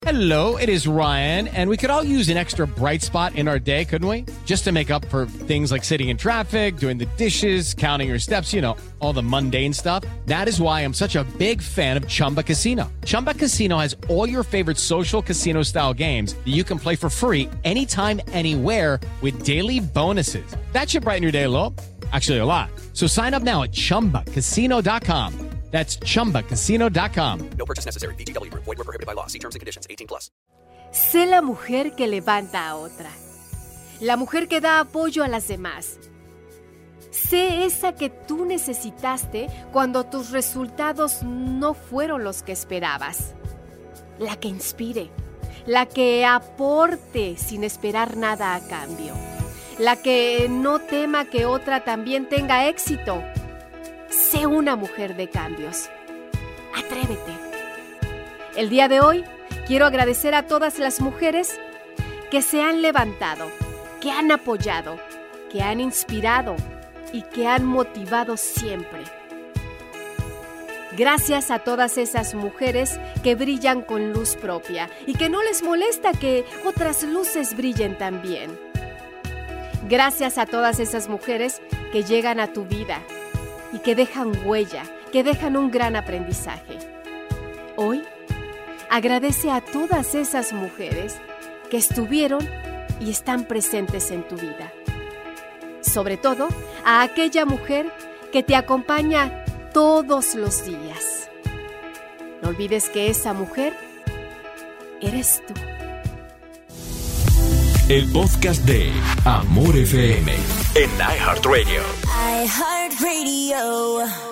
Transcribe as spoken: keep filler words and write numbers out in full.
Hello, it is Ryan, and we could all use an extra bright spot in our day, couldn't we? Just to make up for things like sitting in traffic, doing the dishes, counting your steps, you know, all the mundane stuff. That is why I'm such a big fan of Chumba Casino. Chumba Casino has all your favorite social casino-style games that you can play for free anytime, anywhere with daily bonuses. That should brighten your day a little. Actually, a lot. So sign up now at chumba casino dot com. That's chumba casino dot com. No purchase necessary. V G W Group. Void where prohibited by law. See terms and conditions. eighteen plus. Sé la mujer que levanta a otra. La mujer que da apoyo a las demás. Sé esa que tú necesitaste cuando tus resultados no fueron los que esperabas. La que inspire. La que aporte sin esperar nada a cambio. La que no tema que otra también tenga éxito. Sé una mujer de cambios. Atrévete. El día de hoy quiero agradecer a todas las mujeres que se han levantado, que han apoyado, que han inspirado y que han motivado siempre. Gracias a todas esas mujeres que brillan con luz propia y que no les molesta que otras luces brillen también. Gracias a todas esas mujeres que llegan a tu vida y que dejan huella, que dejan un gran aprendizaje. Hoy, agradece a todas esas mujeres que estuvieron y están presentes en tu vida. Sobre todo, a aquella mujer que te acompaña todos los días. No olvides que esa mujer eres tú. El podcast de Amor F M en iHeartRadio. iHeartRadio.